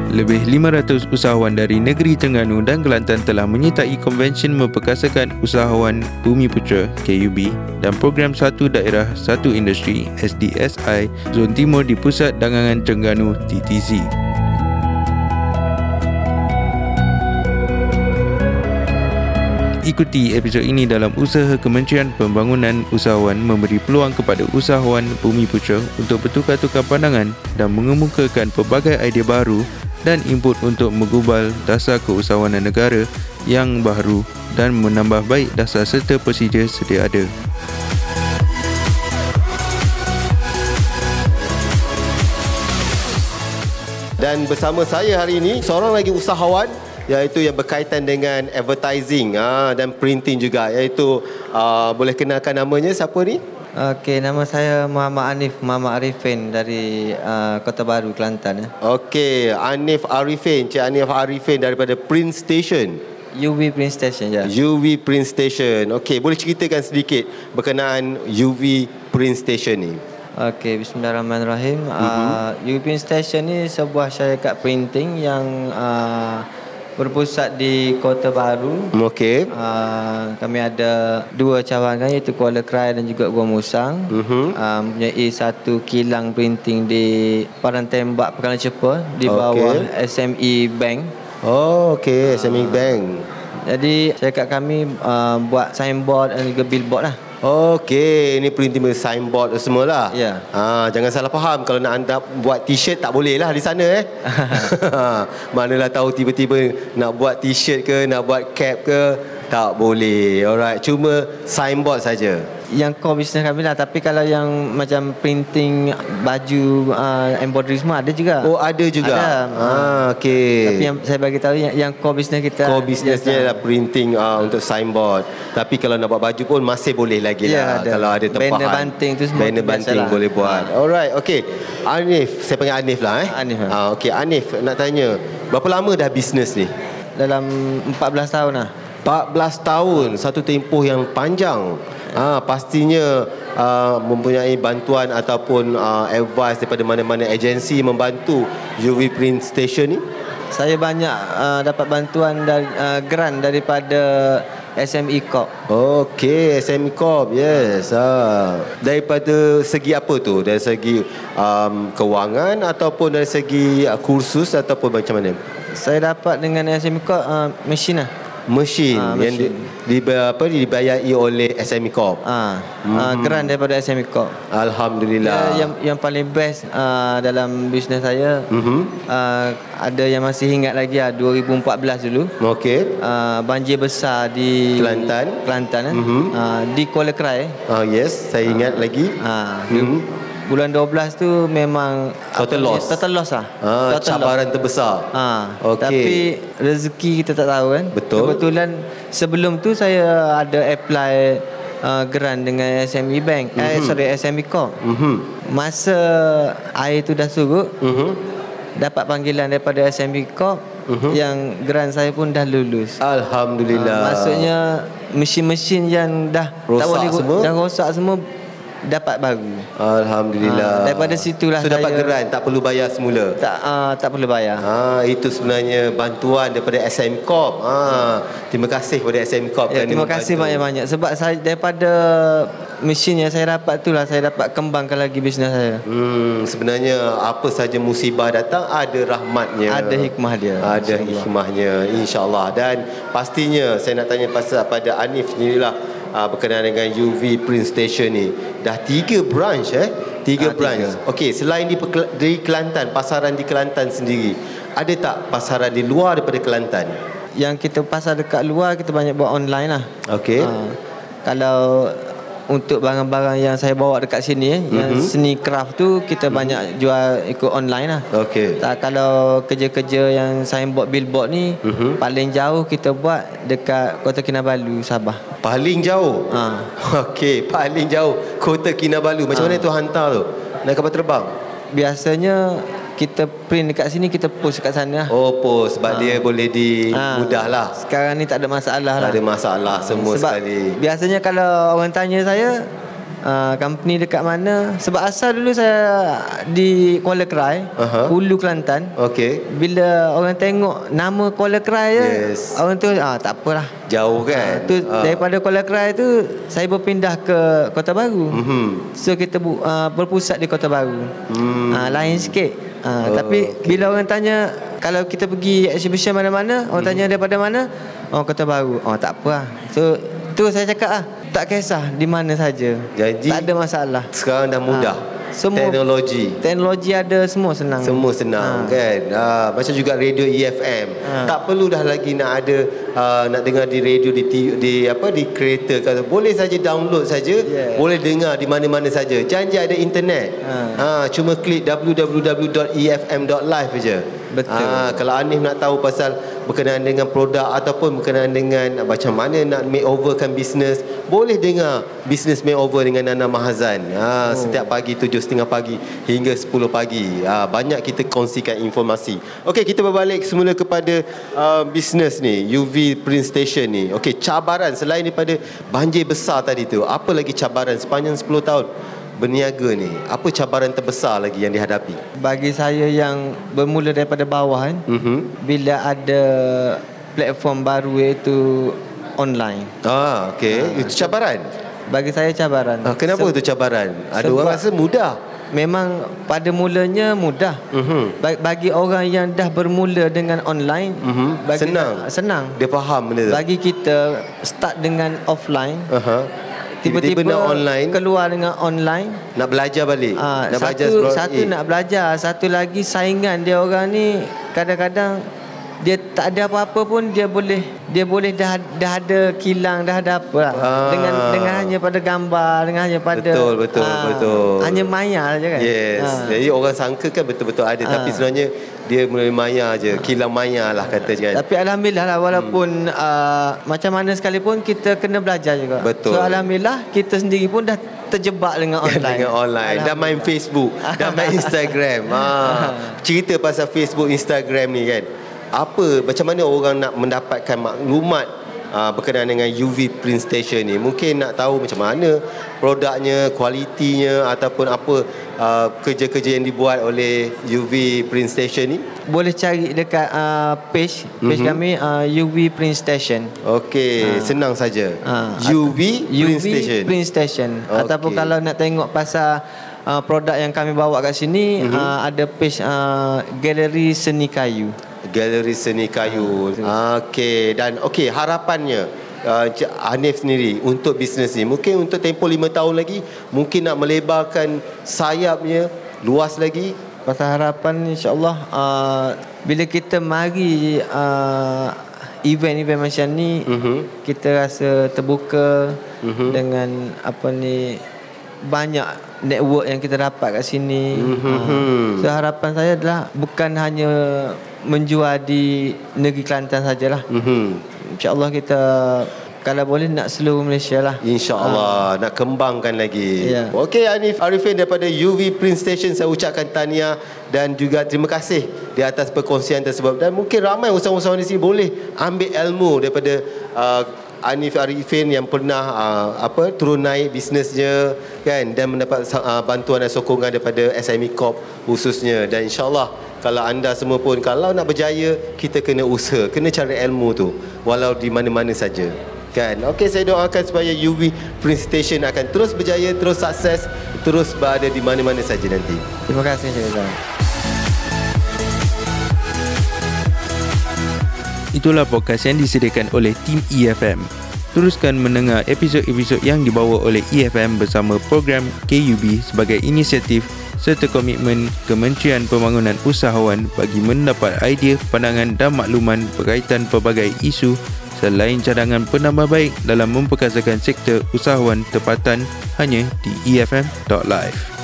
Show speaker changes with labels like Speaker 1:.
Speaker 1: Lebih 500 usahawan dari negeri Terengganu dan Kelantan telah menyertai Konvensyen Memperkasakan Usahawan Bumiputra KUB dan Program Satu Daerah Satu Industri SDSI Zon Timur di Pusat Dagangan Terengganu TTC. Ikuti episod ini dalam usaha Kementerian Pembangunan Usahawan memberi peluang kepada usahawan Bumiputra untuk bertukar-tukar pandangan dan mengemukakan pelbagai idea baru dan input untuk menggubal dasar keusahawanan negara yang baru dan menambah baik dasar serta prosedur sedia ada.
Speaker 2: Dan bersama saya hari ini seorang lagi usahawan, iaitu yang berkaitan dengan advertising dan printing juga, iaitu boleh kenalkan namanya siapa ni?
Speaker 3: Okey, nama saya Muhammad Arifin dari Kota Baru, Kelantan.
Speaker 2: Okey, Anif Arifin, Cik Anif Arifin daripada Print Station.
Speaker 3: UV Print Station ya.
Speaker 2: UV Print Station. Okey, boleh ceritakan sedikit berkenaan UV Print Station ni?
Speaker 3: Okey, bismillahirrahmanirrahim. UV Print Station ni sebuah syarikat printing yang berpusat di Kota Baru.
Speaker 2: Okey.
Speaker 3: Kami ada dua cawangan, iaitu Kuala Krai dan juga Gua Musang. Mempunyai satu kilang printing di Padang Tembak, Pekalan Cepa, di bawah SME Bank.
Speaker 2: Oh, okey, SME Bank.
Speaker 3: Jadi syarikat kami buat signboard dan juga billboard lah.
Speaker 2: Okey, ini printing signboard semua lah.
Speaker 3: Ya.
Speaker 2: Jangan salah faham, kalau nak anda buat t-shirt tak boleh lah di sana Manalah tahu tiba-tiba nak buat t-shirt ke, nak buat cap ke, tak boleh. Alright, cuma signboard saja.
Speaker 3: Yang core business kami lah. Tapi kalau yang macam printing baju, embroidery semua ada juga.
Speaker 2: Oh, ada juga.
Speaker 3: Ada.
Speaker 2: Okey.
Speaker 3: Tapi yang saya bagi tahu yang core business kita,
Speaker 2: core businessnya adalah printing untuk signboard. Tapi kalau nak buat baju pun masih boleh lagi lah.
Speaker 3: Ada.
Speaker 2: Kalau ada tempahan,
Speaker 3: banner banting tu semua,
Speaker 2: banner banting
Speaker 3: lah.
Speaker 2: boleh buat. Alright, okey. Anif, saya panggil Anif lah
Speaker 3: Anif.
Speaker 2: Okey, Anif, nak tanya, berapa lama dah bisnes ni?
Speaker 3: Dalam 14 tahun lah.
Speaker 2: 14 tahun, satu tempoh yang panjang. Pastinya mempunyai bantuan ataupun advice daripada mana-mana agensi membantu UV Print Station ni?
Speaker 3: Saya banyak dapat bantuan dari grant daripada SME Corp.
Speaker 2: Okey, SME Corp, yes. Daripada segi apa tu? Dari segi kewangan ataupun dari segi kursus ataupun macam mana?
Speaker 3: Saya dapat dengan SME Corp mesin lah.
Speaker 2: Mesin yang dibayari oleh SME Corp.
Speaker 3: Grant daripada SME Corp.
Speaker 2: Alhamdulillah.
Speaker 3: Yang paling best dalam bisnes saya, ada yang masih ingat lagi 2014 dulu.
Speaker 2: Okey.
Speaker 3: Banjir besar di Kelantan di Kuala Krai.
Speaker 2: Yes, saya ingat lagi.
Speaker 3: Bulan 12 tu memang
Speaker 2: Total loss
Speaker 3: lah.
Speaker 2: Cabaran terbesar.
Speaker 3: Okay. Tapi rezeki kita tak tahu kan.
Speaker 2: Betul.
Speaker 3: Kebetulan sebelum tu saya ada apply grant dengan SME Bank, SME Corp. Masa air tu dah surut, dapat panggilan daripada SME Corp yang grant saya pun dah lulus.
Speaker 2: Alhamdulillah.
Speaker 3: Maksudnya mesin-mesin yang dah
Speaker 2: rosak
Speaker 3: tak boleh
Speaker 2: semua,
Speaker 3: dah rosak semua dapat baru.
Speaker 2: Alhamdulillah.
Speaker 3: Daripada situlah
Speaker 2: so, dapat geran, tak perlu bayar semula.
Speaker 3: Tak perlu bayar.
Speaker 2: Itu sebenarnya bantuan daripada SM Corp. Terima kasih kepada SM Corp.
Speaker 3: Terima kasih banyak-banyak. Sebab saya daripada mesin yang saya dapat itulah saya dapat kembangkan lagi bisnes saya.
Speaker 2: Sebenarnya apa saja musibah datang ada rahmatnya.
Speaker 3: Ada hikmah dia.
Speaker 2: Ada hikmahnya, insya-Allah. Dan pastinya saya nak tanya pada Anif sendirilah, berkenaan dengan UV Print Station ni. Dah 3 branch 3 branch. Okey, selain di Kelantan, pasaran di Kelantan sendiri, ada tak pasaran di luar daripada Kelantan?
Speaker 3: Yang kita pasar dekat luar, kita banyak buat online lah.
Speaker 2: Okey.
Speaker 3: Kalau untuk barang-barang yang saya bawa dekat sini yang seni craft tu, kita banyak jual ikut online lah.
Speaker 2: Okey.
Speaker 3: Kalau kerja-kerja yang signboard billboard ni, paling jauh kita buat dekat Kota Kinabalu, Sabah.
Speaker 2: Paling jauh? Okey, paling jauh Kota Kinabalu. Macam mana tu hantar tu? Naik kapal terbang?
Speaker 3: Biasanya kita print dekat sini, kita post kat sana.
Speaker 2: Oh, post. Sebab dia boleh mudah lah.
Speaker 3: Sekarang ni tak ada masalah lah.
Speaker 2: Tak ada masalah semua
Speaker 3: sebab
Speaker 2: sekali.
Speaker 3: Biasanya kalau orang tanya saya, company dekat mana. Sebab asal dulu saya di Kuala Krai, Hulu Kelantan.
Speaker 2: Okey.
Speaker 3: Bila orang tengok nama Kuala Krai je, orang tu tak apalah,
Speaker 2: jauh kan.
Speaker 3: Daripada Kuala Krai tu saya berpindah ke Kota Baru. So kita berpusat di Kota Baru. Lain sikit. Tapi bila orang tanya, kalau kita pergi exhibition mana-mana, orang tanya daripada mana, Kota Baru. Tak apa lah. So tu saya cakap tak kisah di mana saja.
Speaker 2: Jadi
Speaker 3: tak ada masalah.
Speaker 2: Sekarang dah mudah. Semua teknologi ada, semua senang. Semua senang kan. Macam juga radio EFM. Tak perlu dah lagi nak ada nak dengar di radio di kereta kan. Boleh saja download saja, boleh dengar di mana-mana saja. Janji ada internet. Cuma klik www.efm.live saja.
Speaker 3: Betul.
Speaker 2: Kalau Hanif nak tahu pasal berkenaan dengan produk ataupun berkenaan dengan macam mana nak makeoverkan bisnes, boleh dengar Business Makeover dengan Nana Mahazan. Setiap pagi 7.30 pagi hingga 10 pagi. Banyak kita kongsikan informasi. Okey, kita berbalik semula kepada bisnes ni, UV Print Station ni. Okey, cabaran selain daripada banjir besar tadi tu, apa lagi cabaran sepanjang 10 tahun berniaga ni? Apa cabaran terbesar lagi yang dihadapi?
Speaker 3: Bagi saya yang bermula daripada bawah kan, bila ada platform baru iaitu online.
Speaker 2: Okey. Itu cabaran?
Speaker 3: Bagi saya cabaran.
Speaker 2: Kenapa itu cabaran? Ada orang rasa mudah.
Speaker 3: Memang pada mulanya mudah. Bagi orang yang dah bermula dengan online, senang.
Speaker 2: Dia faham benda tu.
Speaker 3: Bagi kita start dengan offline, tiba-tiba
Speaker 2: nak online,
Speaker 3: keluar dengan online,
Speaker 2: nak belajar balik.
Speaker 3: Satu nak belajar, satu lagi saingan dia orang ni kadang-kadang dia tak ada apa-apa pun dia boleh dah ada kilang, dah ada apa lah. Dengan hanya pada gambar, dengan hanya pada
Speaker 2: betul.
Speaker 3: Hanya maya saja kan.
Speaker 2: Jadi orang sangka kan betul-betul ada, tapi sebenarnya dia mulai maya je, kilang maya lah kata kan.
Speaker 3: Tapi alhamdulillah lah, walaupun macam mana sekalipun kita kena belajar juga.
Speaker 2: Betul.
Speaker 3: So alhamdulillah kita sendiri pun dah terjebak dengan online.
Speaker 2: Dah main Facebook, dah main Instagram. Cerita pasal Facebook, Instagram ni kan. Macam mana orang nak mendapatkan maklumat berkenaan dengan UV Print Station ni? Mungkin nak tahu macam mana produknya, kualitinya, ataupun apa kerja-kerja yang dibuat oleh UV Print Station ni.
Speaker 3: Boleh cari dekat page kami, UV Print Station.
Speaker 2: Okey, senang saja. UV
Speaker 3: Print Station. Ataupun kalau nak tengok pasal produk yang kami bawa kat sini, ada page Galeri Seni Kayu.
Speaker 2: Galeri Seni Kayu. Okey, dan harapannya Hanif sendiri untuk bisnes ni, mungkin untuk tempoh 5 tahun lagi, mungkin nak melebarkan sayapnya luas lagi.
Speaker 3: Pasal harapan insya-Allah bila kita mari event-event macam ni, kita rasa terbuka dengan banyak network yang kita dapat kat sini. So harapan saya adalah bukan hanya menjual di negeri Kelantan sajalah. InsyaAllah kita kalau boleh nak seluruh Malaysia lah.
Speaker 2: InsyaAllah nak kembangkan lagi. Okey, Hanif Arifin daripada UV Print Station, saya ucapkan tahniah dan juga terima kasih di atas perkongsian tersebut. Dan mungkin ramai usahawan-usahawan di sini boleh ambil ilmu daripada Hanif Arifin yang pernah turun naik bisnesnya kan, dan mendapat bantuan dan sokongan daripada SME Corp khususnya. Dan insyaAllah kalau anda semua pun kalau nak berjaya, kita kena usaha, kena cari ilmu tu walau di mana-mana saja kan. Okey, saya doakan supaya UV Print Station akan terus berjaya, terus sukses, terus berada di mana-mana saja nanti.
Speaker 3: Terima kasih Syazwan.
Speaker 1: Itulah podcast yang disediakan oleh tim EFM. Teruskan mendengar episod-episod yang dibawa oleh EFM bersama program KUB sebagai inisiatif serta komitmen Kementerian Pembangunan Usahawan bagi mendapat idea, pandangan dan makluman berkaitan pelbagai isu selain cadangan penambahbaik dalam memperkasakan sektor usahawan tempatan hanya di efm.live.